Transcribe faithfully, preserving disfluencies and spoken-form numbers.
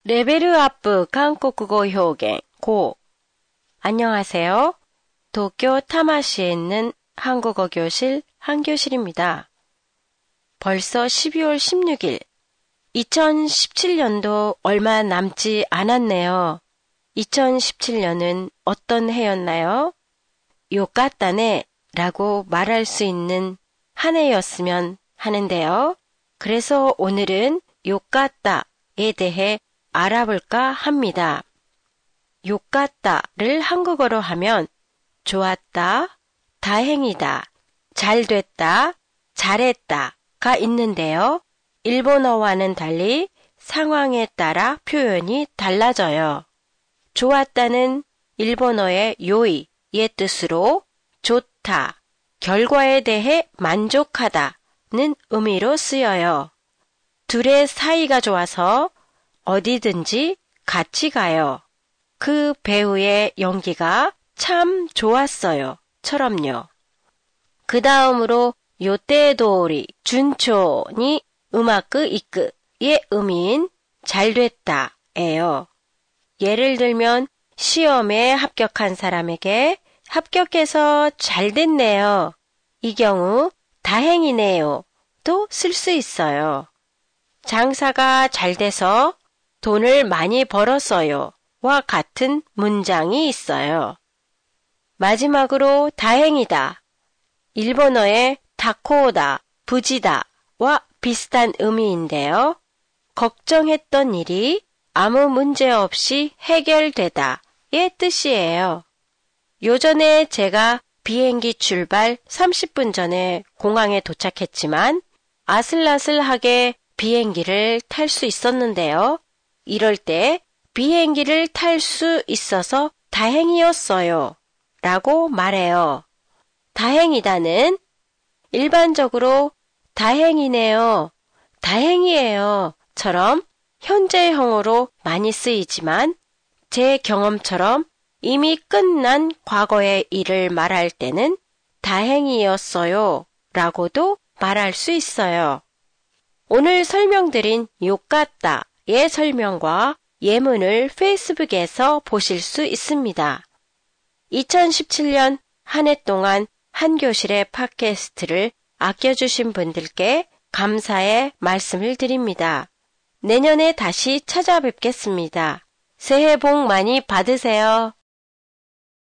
레벨 아프 한국어 표현 고. 안녕하세요. 도쿄 타마시에 있는 한국어 교실 한교실입니다. 벌써 십이월 십육일, 이천십칠 년도 얼마 남지 않았네요. 이천십칠 년은 어떤 해였나요? 요까따네 라고 말할 수 있는 한 해였으면 하는데요. 그래서 오늘은 요까따에 대해 알아볼까 합니다. 요까따를 한국어로 하면 좋았다, 다행이다, 잘됐다, 잘했다가 있는데요. 일본어와는 달리 상황에 따라 표현이 달라져요. 좋았다는 일본어의 요이의 뜻으로 좋다, 결과에 대해 만족하다는 의미로 쓰여요. 둘의 사이가 좋아서 어디든지 같이 가요. 그 배우의 연기가 참 좋았어요. 처럼요. 그 다음으로 요테도리 준초니 우마쿠 이쿠의 의미인 잘됐다예요. 예를 들면 시험에 합격한 사람에게 합격해서 잘됐네요. 이 경우 다행이네요. 또 쓸 수 있어요. 장사가 잘 돼서 돈을 많이 벌었어요. 와 같은 문장이 있어요. 마지막으로 다행이다. 일본어의 다코다, 부지다와 비슷한 의미인데요. 걱정했던 일이 아무 문제 없이 해결되다의 뜻이에요. 요전에 제가 비행기 출발 삼십 분 전에 공항에 도착했지만 아슬아슬하게 비행기를 탈 수 있었는데요. 이럴 때 비행기를 탈 수 있어서 다행이었어요. 라고 말해요. 다행이다는 일반적으로 다행이네요, 다행이에요 처럼 현재형으로 많이 쓰이지만 제 경험처럼 이미 끝난 과거의 일을 말할 때는 다행이었어요 라고도 말할 수 있어요. 오늘 설명드린 요까따의 설명과 예문을 페이스북에서 보실 수 있습니다. 이천십칠 년 한 해 동안 한교실의 팟캐스트를 아껴주신 분들께 감사의 말씀을 드립니다. 내년에 다시 찾아뵙겠습니다. 새해 복 많이 받으세요.